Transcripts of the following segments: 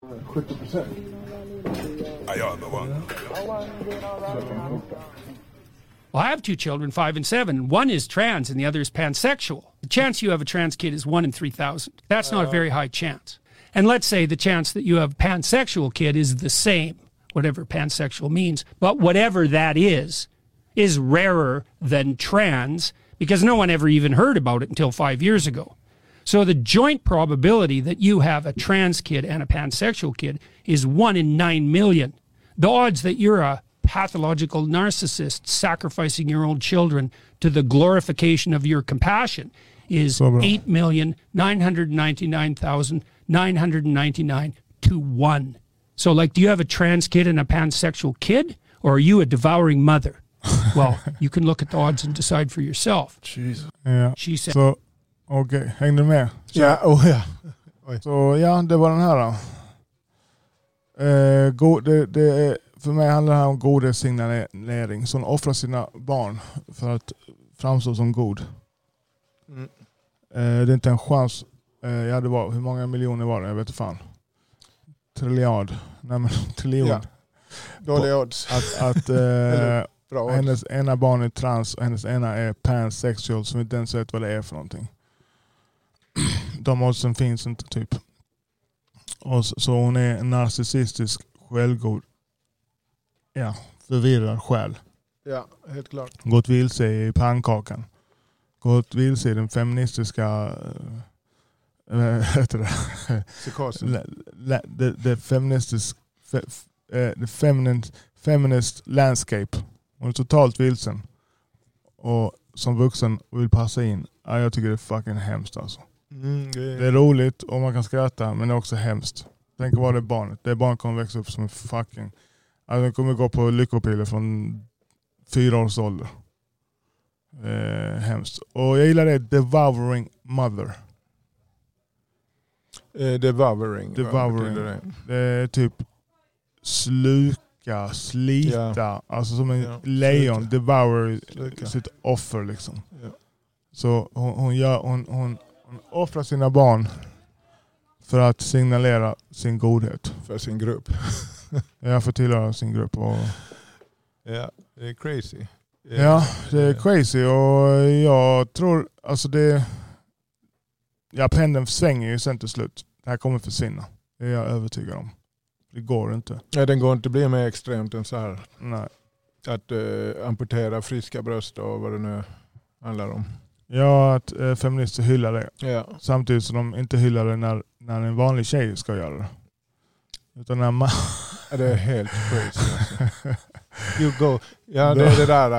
70%. Well, I have two children, 5 and 7. One is trans and the other is pansexual. The chance you have a trans kid is 1 in 3,000. That's not a very high chance. And let's say the chance that you have a pansexual kid is the same, whatever pansexual means. But whatever that is rarer than trans because no one ever even heard about it until 5 years ago. So the joint probability that you have a trans kid and a pansexual kid is 1 in 9 million. The odds that you're a pathological narcissist sacrificing your own children to the glorification of your compassion is 8,999,999 to 1. So, like, do you have a trans kid and a pansexual kid, or are you a devouring mother? Well, you can look at the odds and decide for yourself. Jesus. Ja. She said. Så, okej, hängde du med? Så, Ja, ja. Så ja, det var den här då. För mig handlar det här om godhetssignalering. Så hon offrar sina barn för att framstå som god. Mm. Det är inte en chans. Ja, det var, hur många miljoner var det? Jag vet inte fan. Trilliard. Nej, men triljon. Ja. Dåliga odds. Att Bra odds. hennes ena barn är trans och hennes ena är pansexual som inte ens vet vad det är för någonting. De oddsen finns inte typ. Och så hon är en narcissistisk, självgod, förvirrad själ. Ja, helt klart. Gått vilse i pannkakan. Gått vilse i den feministiska Psykosen. The feminist landscape. Hon är totalt vilsen. Och som vuxen vill passa in. Ja, jag tycker det är fucking hemskt alltså. Det är roligt och man kan skratta, men det är också hemskt. Tänk vad det är barnet. Det barnet kommer växa upp som en fucking... Alltså den kommer gå på lyckopiller från 4 års ålder. Hemskt. Och jag gillar det. Devouring mother. Devouring. Det är typ sluka, slita. Alltså som en lejon. Devour sitt offer liksom. Ja. Så hon offrar sina barn för att signalera sin godhet. För sin grupp. Ja, för att tillhöra sin grupp. Och... Ja, det är crazy. Ja, det är crazy och jag tror, alltså det... Ja, pendeln svänger ju sen till slut. Det här kommer försvinna. Det är jag övertygad om. Det går inte. Ja, den går inte bli mer extremt än så här. Nej. Att amputera friska bröst och vad det nu handlar om. Ja, att feminister hyllar det. Ja. Samtidigt som de inte hyllar det när en vanlig tjej ska göra det. Utan när man... Ja, det är helt crazy. Alltså. You go. Ja, det är det där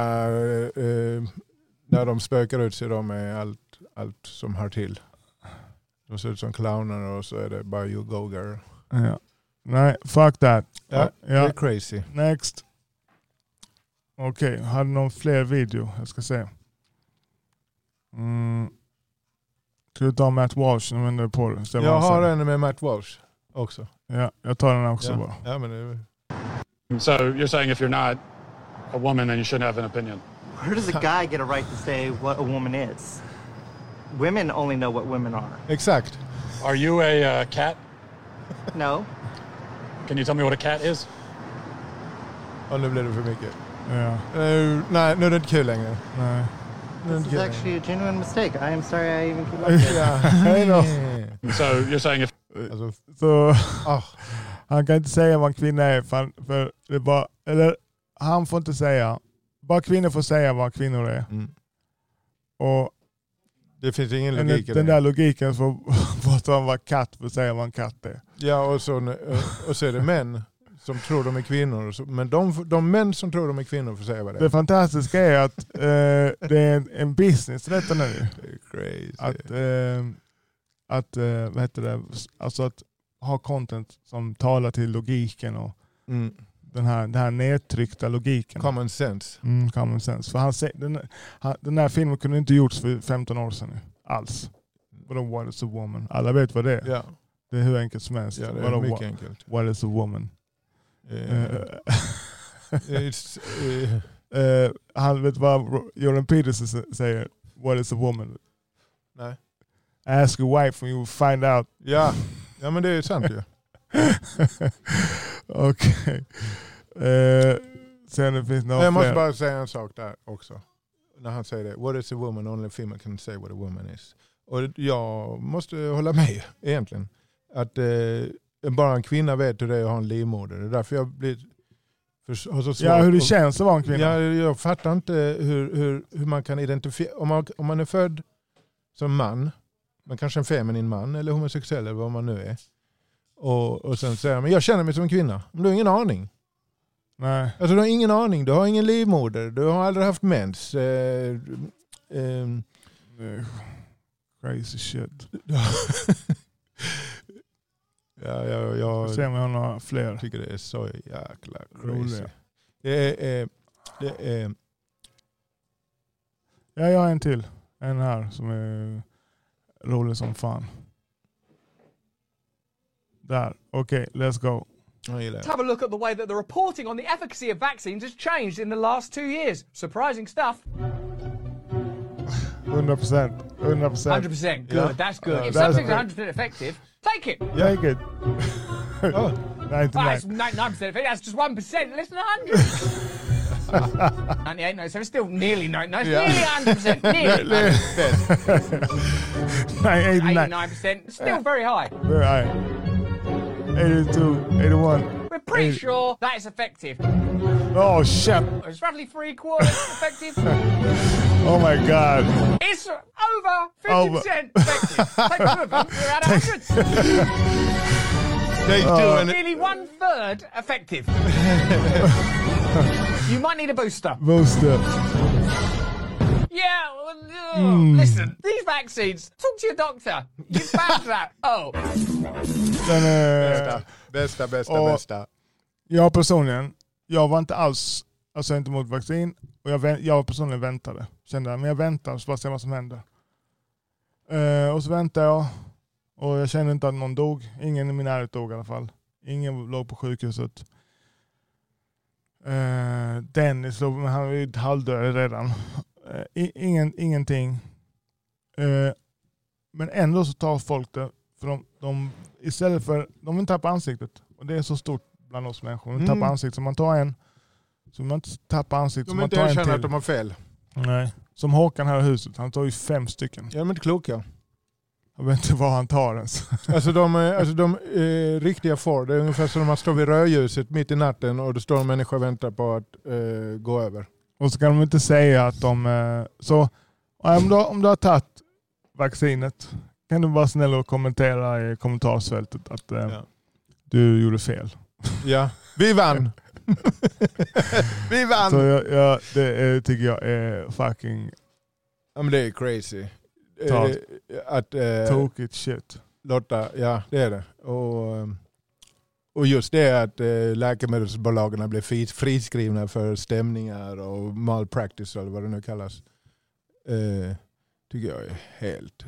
när de spökar ut sig med allt som hör till. De ser ut som clowner och så är det bara you go girl. Ja. Nej, fuck that. Ja, det är crazy. Next. Okej, har du någon fler video? Jag ska se. Ska du ta Matt Walsh? På det. Jag har en med Matt Walsh också. Ja, jag tar den också bara. Ja, men det... So you're saying if you're not a woman then you shouldn't have an opinion? Where does a guy get a right to say what a woman is? Women only know what women are. Exakt. Are you a cat? No. Can you tell me what a cat is? Och nu blir det för mycket. Ja. Nej, nu är det inte kul längre. Nej. This is actually a genuine mistake. I am sorry I even came up with it. So you're saying if... Så han kan inte säga vad en kvinna är för det bara, eller han får inte säga, bara kvinnor får säga vad kvinnor är. Och det finns ingen logik i den där logiken får att man var katt för att säga vad en katt är. Ja, och så är det män som tror de är kvinnor. Men de män som tror de är kvinnor får säga vad det är. Det fantastiska är att det är en business detta nu. Det är crazy. Att vad heter det? Alltså att ha content som talar till logiken och den här nedtryckta logiken. Common sense. Common sense. För den här filmen kunde inte gjorts för 15 år sedan nu. Alls. What is a woman? Alla vet vad det är. Ja. Det är hur enkelt som helst. Ja, det är mycket enkelt. What is a woman? Han vet vad Jordan Peterson säger. What is a woman? Nej. Ask your wife and you will find out. Ja, men det är sant ju. Okej. Sen det finns några Jag måste fler. bara säga en sak där också. När han säger det. What is a woman? Only a female can say what a woman is. Och jag måste hålla med egentligen. Att bara en kvinna vet hur det är att ha en livmoder. Det är därför jag har så svårt. Ja, hur det känns att vara en kvinna. Jag fattar inte hur man kan identifiera. Om man är född som man, men kanske en feminin man eller homosexuell eller vad man nu är. Och sen säger men jag känner mig som en kvinna. Men du har ingen aning. Nej. Alltså du har ingen aning. Du har ingen livmoder. Du har aldrig haft mens. Crazy shit. Jag Se om jag har några fler. tycker det är så jäkla crazy. Roliga. Det är Ja, jag har en till. En här som är rolig som fan. Där. Okej, let's go. Let's have a look at the way that the reporting on the efficacy of vaccines has changed in the last 2 years. Surprising stuff. 100%. 100%. Good. Yeah. That's good. If That's something's good. 100% effective, take it. Take it. Oh. 99. That's 99% effective. That's just 1%. Less than 100. 98, no, so it's still nearly 99. It's nearly 100%. Nearly. 89. 89%. Still very high. Very high. 82. 81. We're pretty sure that is effective. Oh shit. It's roughly 3/4 effective. Oh my god. It's over 50% effective. Take 2 of them, we're at 100. Take two and Nearly 1/3 effective. You might need a booster. Booster. Yeah, listen, these vaccines, talk to your doctor. You found that. Oh. Den är... Bästa. Jag personligen, jag var inte alls, alltså inte mot vaccin. Och jag personligen väntade. Kände men jag väntar så bara se vad som händer. Och så väntade jag. Och jag kände inte att någon dog. Ingen i min närhet dog i alla fall. Ingen låg på sjukhuset. Dennis låg, men han var ju halvdöd redan. Ingenting. Men ändå så tar folk det. För de istället för, de vill tappa ansiktet. Och det är så stort bland oss människor. De vill tappa ansiktet. Så man tar en. Så man inte tappar ansiktet. De inte erkänner att de har fel. Nej. Som Håkan här i huset. Han tar ju 5 stycken. Ja, de är inte kloka. Jag vet inte vad han tar ens. Alltså de riktiga får. Det är ungefär som man står vid rödljuset mitt i natten och det står en människa och väntar på att gå över. Och så kan de inte säga att de... Så om du har tagit vaccinet kan du vara snäll och kommentera i kommentarsfältet att du gjorde fel. Ja, vi vann. Vi vann. Så det tycker jag är fucking... Ja, men det är crazy. Tokigt shit. Lotta, ja det är det. Och just det att läkemedelsbolagen blir friskrivna för stämningar och malpractice eller vad det nu kallas. Tycker jag är helt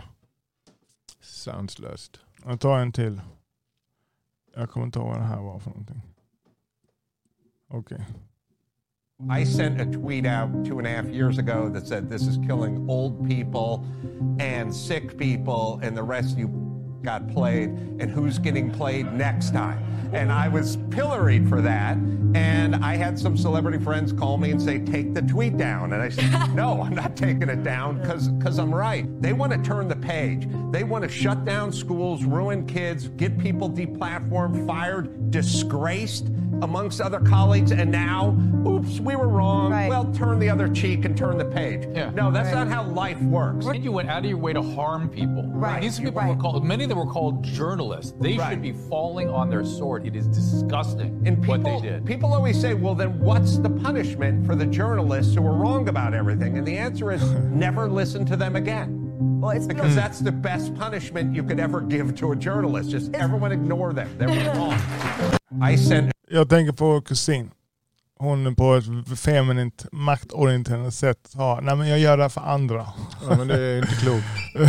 sanslöst. Jag tar en till. Jag kommer inte ihåg vad det här var för någonting. Okej. I sent a tweet out 2.5 years ago that said this is killing old people and sick people and the rest you got played and who's getting played next time. And I was pilloried for that. And I had some celebrity friends call me and say, take the tweet down. And I said, no, I'm not taking it down because I'm right. They want to turn the page. They want to shut down schools, ruin kids, get people deplatformed, fired, disgraced amongst other colleagues. And now, oops, we were wrong. Right. Well, turn the other cheek and turn the page. Yeah. No, that's not how life works. And you went out of your way to harm people. Right. These people were called, many of them were called journalists. They should be falling on their sword. It is disgusting what they did. People always say, well, then what's the punishment for the journalists who were wrong about everything? And the answer is never listen to them again. Well, it's because that's the best punishment you could ever give to a journalist. Just everyone ignore them. They were wrong. Jag tänker på kusin. Hon på ett feminint, maktorienterat sätt har, nej men jag gör det för andra. Ja, men det är inte klokt.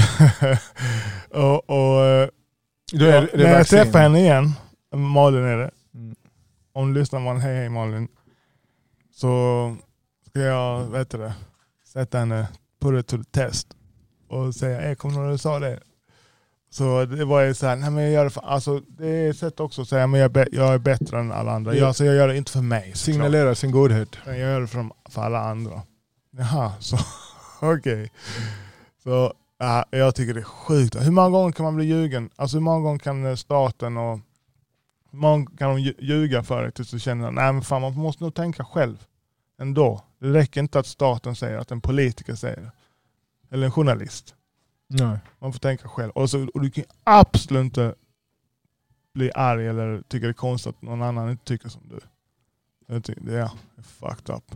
När jag träffar henne igen, Malin är det. Om du lyssnar man, hej Malin. Så ska jag, sätta henne på det till test. Och säga, kom när du sa det. Så det var ju så här, nej men jag gör det för, alltså det är ett sätt också att säga, men jag är bättre än alla andra. Jag gör det inte för mig. Signalera sin godhet. Jag gör det för alla andra. Jaha, så okej. Så ja, jag tycker det är sjukt. Hur många gånger kan man bli ljugen? Alltså hur många gånger kan staten och hur många kan de ljuga för dig tills du känner, nej men fan man måste nog tänka själv ändå. Det räcker inte att staten säger, att en politiker säger det. Eller en journalist. Nej. Man får tänka själv. Och du kan absolut inte bli arg eller tycka det är konstigt att någon annan inte tycker som du. Jag tycker det är fucked up.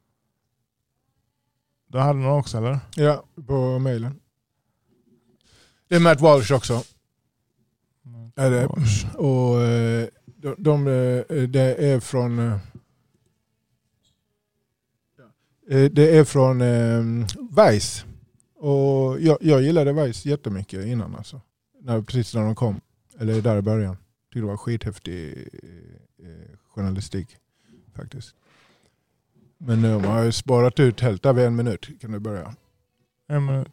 Du hade någon också, eller? Ja, på mejlen. Det är Matt Walsh också. Är det. Och det är från Vice. Och jag gillade Vice jättemycket innan alltså. Precis när de kom. Eller där i början. Det var skithäftig journalistik faktiskt. Men nu har jag sparat ut helt av 1 minut. Kan du börja? 1 minut.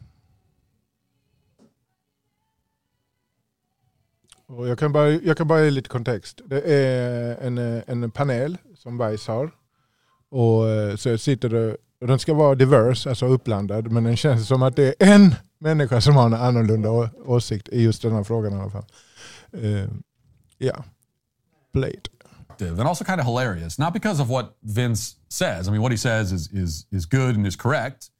Och jag kan bara ge lite kontext. Det är en panel som Vice har. Och så sitter det, och den ska vara diverse, alltså uppblandad, men den känns som att det är en människa som har en annorlunda åsikt i just den här frågan i alla fall. Blade. And also kind of hilarious, not because of what Vince says. I mean, what he says is good and is correct,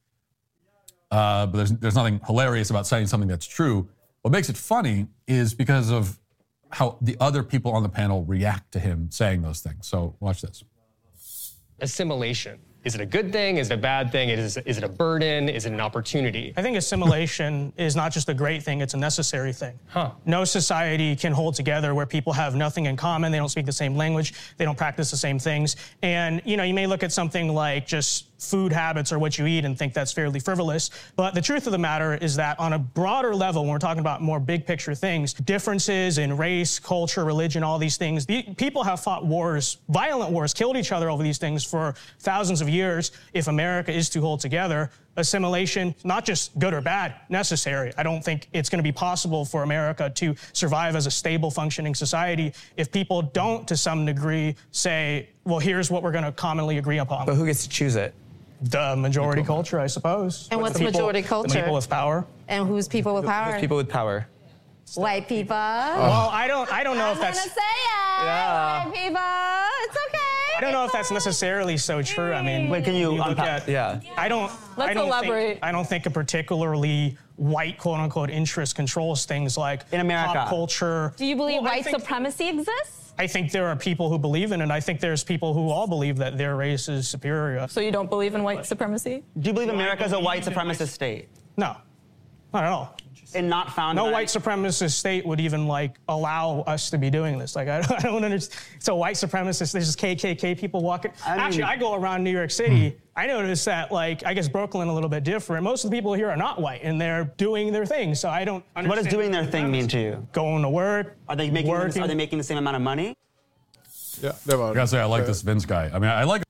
but there's nothing hilarious about saying something that's true. What makes it funny is because of how the other people on the panel react to him saying those things. So watch this. Assimilation. Is it a good thing? Is it a bad thing? Is it a burden? Is it an opportunity? I think assimilation is not just a great thing, it's a necessary thing. No society can hold together where people have nothing in common. They don't speak the same language. They don't practice the same things. And, you know, you may look at something like just food habits or what you eat and think that's fairly frivolous. But the truth of the matter is that on a broader level, when we're talking about more big picture things, differences in race, culture, religion, all these things, people have fought wars, violent wars, killed each other over these things for thousands of years. If America is to hold together, assimilation, not just good or bad, necessary. I don't think it's going to be possible for America to survive as a stable, functioning society if people don't, to some degree, say, well, here's what we're going to commonly agree upon. But who gets to choose it? The majority culture, I suppose. And what's majority culture? The people with power. And who's people with power? Who's people with power? White people. Well, I don't know if that's... I'm gonna say it. Yeah. White people. It's okay. I don't know if that's necessarily so true. I mean, wait, can you unpack? Yeah. Let's elaborate. I don't think a particularly white, quote unquote, interest controls things like in America. Pop culture. Do you believe white supremacy exists? I think there are people who believe in it. I think there's people who all believe that their race is superior. So you don't believe in white supremacy? Do you believe America is a white supremacist state? No, not at all. And not found. No white supremacist state would even allow us to be doing this. I don't understand. So white supremacists, there's just KKK people walking. Actually, I go around New York City. I notice that, I guess Brooklyn a little bit different. Most of the people here are not white, and they're doing their thing. So I don't understand. What does doing their thing mean to you? Going to work. Are they making the same amount of money? Yeah, I gotta say, I like this Vince guy. I mean, I like.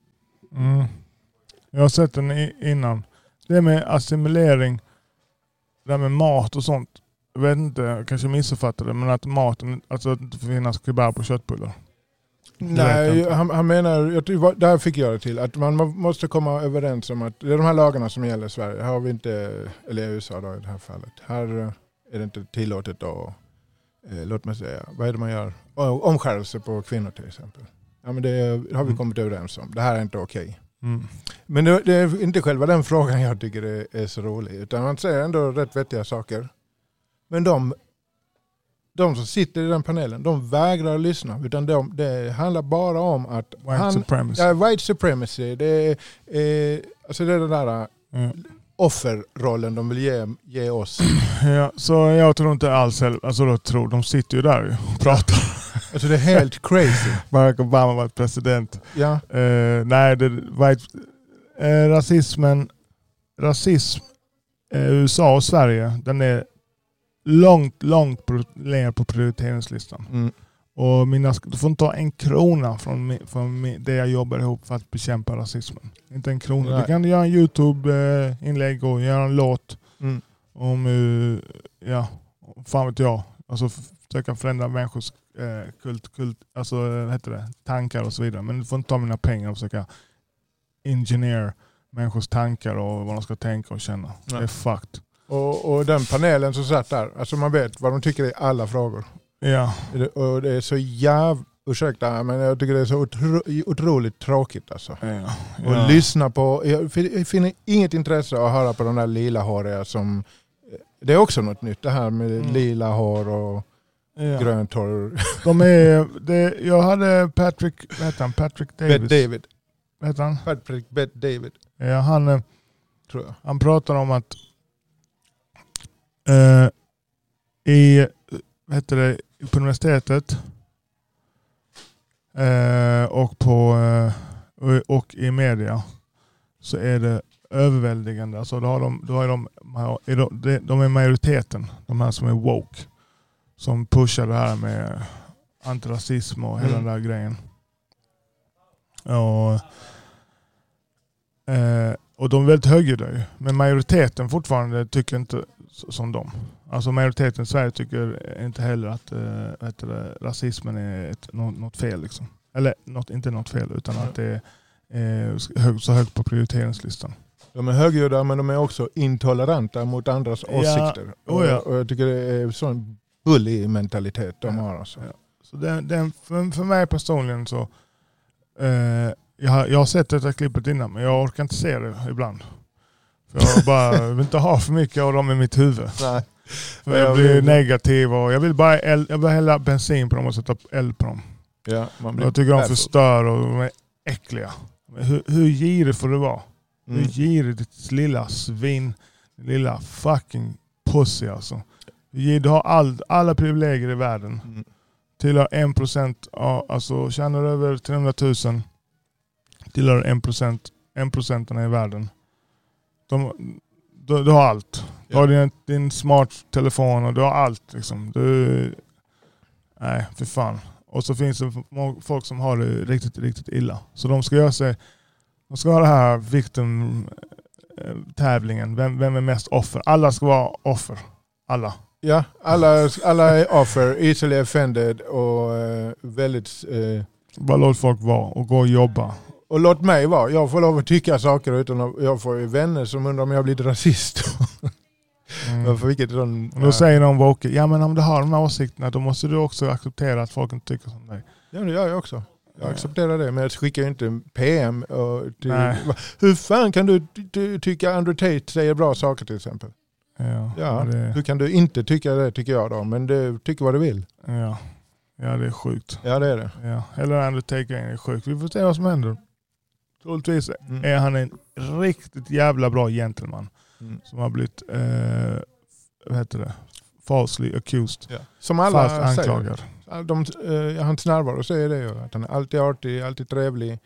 Jag har sett den innan. Det med assimilering, det med mat och sånt. Jag vet inte, jag kanske missuppfattade det, men att maten, alltså att det inte finns kebab på köttbullar. Nej, han menar, där fick jag det till, att man måste komma överens om att det är de här lagarna som gäller i Sverige. Här har vi inte, eller i USA då i det här fallet. Här är det inte tillåtet att, låt mig säga, vad är det man gör? Omskärelse på kvinnor till exempel. Ja, men det har vi kommit överens om. Det här är inte okej. Men det är inte själva den frågan jag tycker är så rolig. Utan man säger ändå rätt vettiga saker. Men de som sitter i den panelen, de vägrar att lyssna. Utan det handlar bara om att white supremacy. Det är alltså det där offerrollen de vill ge oss. Ja, så jag tror inte alls, alltså de sitter ju där och pratar. Alltså det är helt crazy. Barack Obama var president. Ja. Nej, rasism USA och Sverige, den är långt ner på prioriteringslistan. Och du får inte ta en krona från det jag jobbar ihop för att bekämpa rasismen. Inte en krona. Du kan göra en YouTube-inlägg och göra en låt om fan vet jag. Alltså försöka förändra människors alltså vad heter det? Tankar och så vidare. Men du får inte ta mina pengar och försöka engineer människors tankar och vad de ska tänka och känna. Ja. Det är fucked. Och den panelen som satt där, alltså man vet vad de tycker i alla frågor. Ja. Och det är så ursäkta, men jag tycker det är så otroligt tråkigt alltså. Ja. Och lyssna på, jag finner inget intresse att höra på de där lila håriga som, det är också något nytt det här med lila hår och grönt hår. Jag hade Patrick Davis. Bet David. Vad heter han? Patrick Bet David. Ja, han tror jag. Han pratar om att på universitetet och i media så är det överväldigande. Alltså de är majoriteten, de här som är woke, som pushar det här med antirasism och hela den där grejen. Och de är väldigt högljudda ju. Men majoriteten fortfarande tycker inte som dem. Alltså majoriteten i Sverige tycker inte heller att rasismen är något fel liksom. Eller inte något fel, utan att det är så högt på prioriteringslistan. De är högljudda, men de är också intoleranta mot andras åsikter. Och jag tycker det är sån bullig mentalitet de har. Alltså. Ja. Så för mig personligen så jag har sett detta klippet innan, men jag orkar inte se det ibland. För jag vill inte ha för mycket av dem i mitt huvud. Nej. För jag blir negativ och jag vill hälla bensin på dem och sätta eld på dem. Ja, jag tycker de förstör och de är äckliga. Hur girig får det vara? Hur girig ditt lilla svin, lilla fucking pussy alltså. Du har alla privilegier i världen. Tillhör 1%, alltså tjänar över 300 000, tillhör 1% i världen. Du har allt. Du har din smart telefon och du har allt liksom. Nej, för fan. Och så finns det folk som har det riktigt, riktigt illa. Så de ska ha det här victim-tävlingen. Vem är mest offer? Alla ska vara offer. Alla. Ja, alla är offer, easily offended och väldigt... Bara låt folk vara och gå och jobba. Och låt mig vara. Jag får lov att tycka saker utan att jag får vänner som undrar om jag blir rasist. Då säger de woke, ja men om du har de här åsikterna då måste du också acceptera att folk inte tycker som dig. Ja, det gör jag också. Jag accepterar det, men jag skickar ju inte PM. Hur fan kan du tycka Andrew Tate säger bra saker till exempel? Hur kan du inte tycka det, tycker jag då? Men du tycker vad du vill. Ja, det är sjukt. Ja, det är det. Ja. Eller Andrew Tate är sjukt. Vi får se vad som händer. Troligtvis är han en riktigt jävla bra gentleman. Som har blivit falsely accused. Ja. Som alla anklagad. Hans närvaro säger det ju. Att han är alltid artig, alltid trevlig.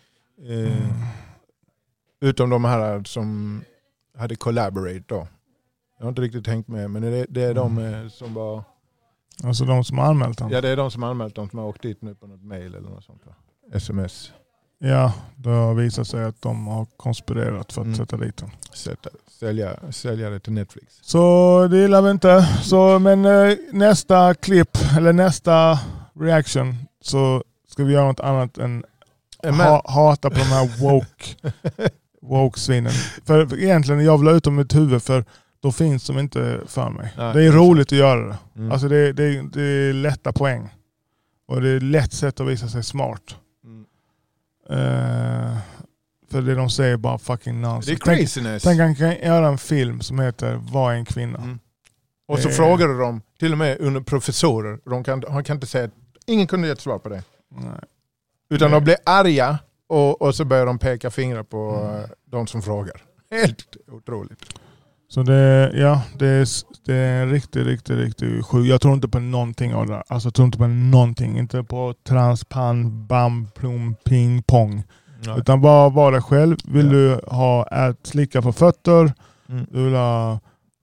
Utom de här som hade collaborate då. Jag har inte riktigt tänkt med, men det är de som var... Alltså de som har anmält dem? Ja, det är de som har anmält dem som har åkt dit nu på något mail eller något sånt. SMS. Ja, det har visat sig att de har konspirerat för att sätta dit dem. Sälja det till Netflix. Så det gillar vi inte. Men nästa klipp, eller nästa reaction, så ska vi göra något annat än hata på de här woke-svinen. För egentligen, jag vill ha ut dem i mitt huvud, för då finns de inte för mig. Nej, det är roligt att göra det. Alltså det är lätta poäng. Och det är lätt sätt att visa sig smart. För det de säger bara fucking nonsense. Det är craziness. Tänk han kan göra en film som heter Vad är en kvinna? Och så frågar du dem, till och med under professorer. Han kan inte säga att ingen kunde ge ett svar på det. Nej. Utan de blir arga och så börjar de peka fingrar på de som frågar. Helt otroligt. Så det är riktigt sjukt. Jag tror inte på någonting av det. Alltså jag tror inte på någonting. Inte på transpan, bam, plom, ping, pong. Nej. Utan bara vara dig själv. Vill du ha slicka på fötter? Du vill ha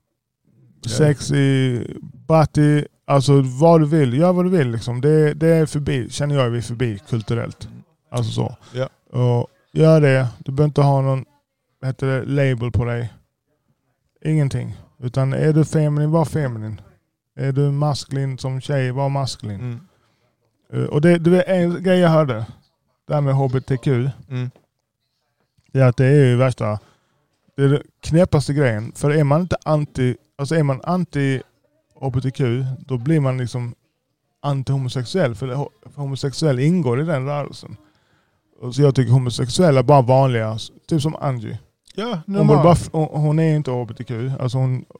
sexy body. Alltså vad du vill. Gör vad du vill liksom. Det är förbi. Känner jag, vi är förbi kulturellt. Alltså så. Ja. Och gör det. Du behöver inte ha någon label på dig. Ingenting. Utan är du feminin, var feminin. Är du maskulin som tjej, var maskulin. Och det är en grej jag hörde. Det här med HBTQ. Det är att det är ju värsta. Det är det knäppaste grejen. För är man inte är man anti HBTQ, då blir man liksom anti-homosexuell. För homosexuell ingår i den rörelsen. Och så jag tycker homosexuella är bara vanliga. Typ som Angie. Ja, hon är inte HBTQ. Alltså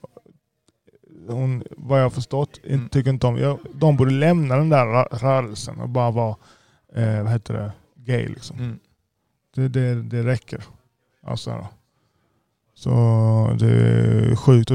hon vad jag har förstått, tycker inte om. De borde lämna den där rörelsen och bara vara gay liksom. Det räcker. Alltså, så det är sjukt och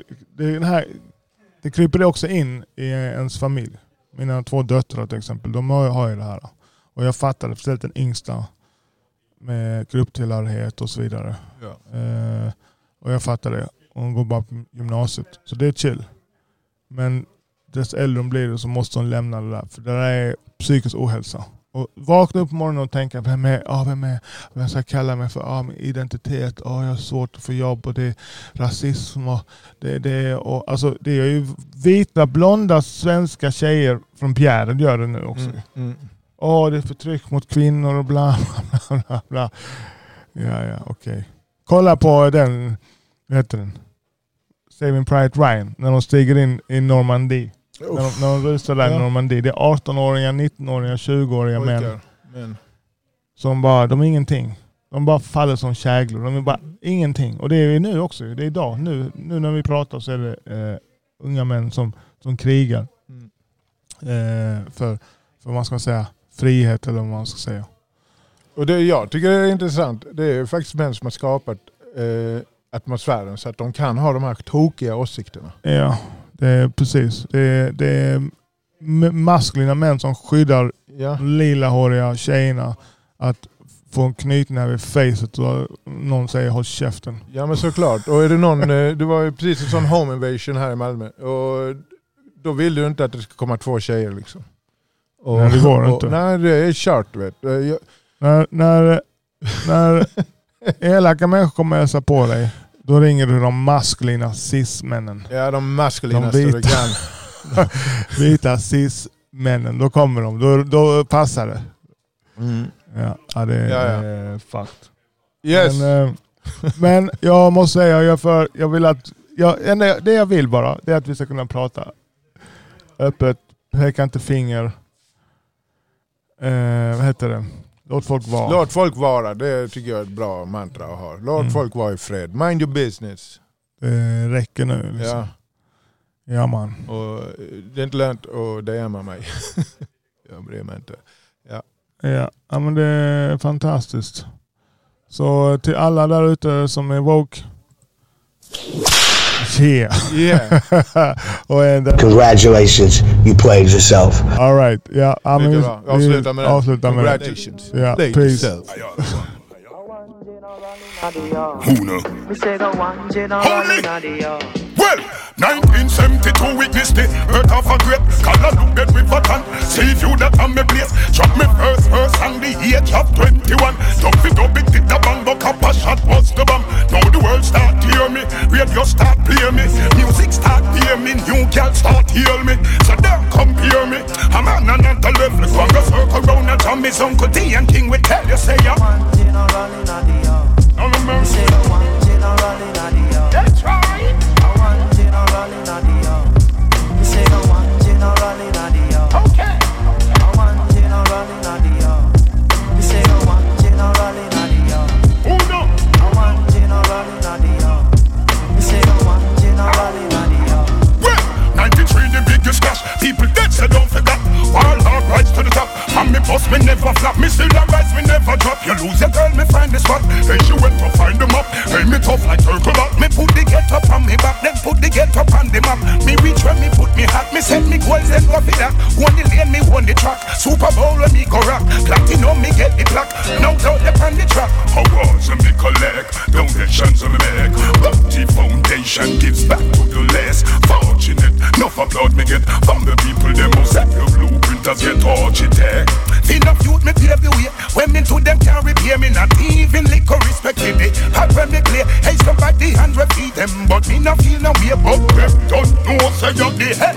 det kryper också in i ens familj. Mina 2 döttrar till exempel, de har ju det här. Och jag fattade, speciellt den yngsta med grupptillhörighet och så vidare. Ja. Och jag fattade det. Hon går bara på gymnasiet. Så det är chill. Men dess äldre hon blir så måste hon lämna det där. För det där är psykisk ohälsa. Och vakna upp på morgonen och tänka, vem ska jag kalla mig för? Min identitet, jag har svårt att få jobb och det är rasism och det är ju vita, blonda svenska tjejer från Bjärred gör det nu också. Det är förtryck mot kvinnor och bla bla bla bla. Ja, okej. Kolla på den, vad heter den? Saving Private Ryan, när de stiger in i Normandie. När de rusar där i Normandie. Det är 18-åringar, 19-åringar, 20-åriga män. Som bara, de är ingenting. De bara faller som käglor. De är bara ingenting. Och det är nu också. Det är idag. Nu när vi pratar så är det unga män som krigar. För vad man ska säga, frihet eller vad man ska säga. Och det jag tycker är intressant. Det är faktiskt män som har skapat atmosfären så att de kan ha de här tokiga åsikterna. Ja. Det är precis. Det är maskulina män som skyddar lilahåriga tjejerna att få en knytnäve vid facet och någon säger håll käften. Ja men såklart. Och är det någon, det var ju precis en sån home invasion här i Malmö och då vill du inte att det ska komma 2 tjejer liksom. Och, nej det går inte. Nej det är kört vet. När elaka människor kommer hälsa på dig. Då ringer du de maskulina cis-männen. Ja, de maskulina vita cis-männen. Då kommer de. Då passar det. Ja, det är fucked. Yes. Men jag måste säga, jag vill att det jag vill bara, det är att vi ska kunna prata öppet, peka inte finger. Vad heter det? Låt folk vara. Låt folk vara, det tycker jag är ett bra mantra att ha. Låt folk vara i fred. Mind your business. Det räcker nu. Liksom. Ja man. Och det är inte lönt att DMa mig. Jag bryr mig inte. Ja, men det är fantastiskt. Så till alla där ute som är woke. Yeah. Congratulations, you played yourself. All right. Yeah, avsluta med det. Congratulations. Yeah, peace. Well, 1972 witnessed the birth of a great scholar, look dead with Vatan. See you that on me place. Drop me first verse on the age of 21. Don't fit up it, did the bang, but a shot was the bomb. Now the world start to hear me, radio start play me, music start hear me, new girl start heal me. So don't compare me, I'm on another level. Go circle round and tell me some good D and King will tell you, say ya. One general in the yard. No mercy. One general in the yard. That's right. One general in the yard. You say the one general in the yard. Okay. One general in the yard. You say the one general in the yard. Who know? One general in the yard. You say the one general in the yard. Well, 93 the biggest cash. People dead so don't forget. All hard rise to the top. And me boss me never flop. Me still a rise, me never drop. You lose your girl, me find the spot. Hey, she went to find them up. Hey, me tough like turtle back. Me put the get up on me back. Then put the get up on the map. Me reach where me put me hat. Me set me goals and go for that. Won the lane, me won the track. Super Bowl when me go rock. Platinum, me get the plaque. Now out up on the track. Awards and me collect. Donations on me make. Bounty Foundation gives back to the less fortunate. Enough applaud me get from the people. Them who set your blueprinters get architect. Enough youth me pave the way. When me to them can't repair me. Not even liquor respect me. They hot when me clear. Hey, somebody 100 feet them. But me not feel no way. But them don't know say you're the head.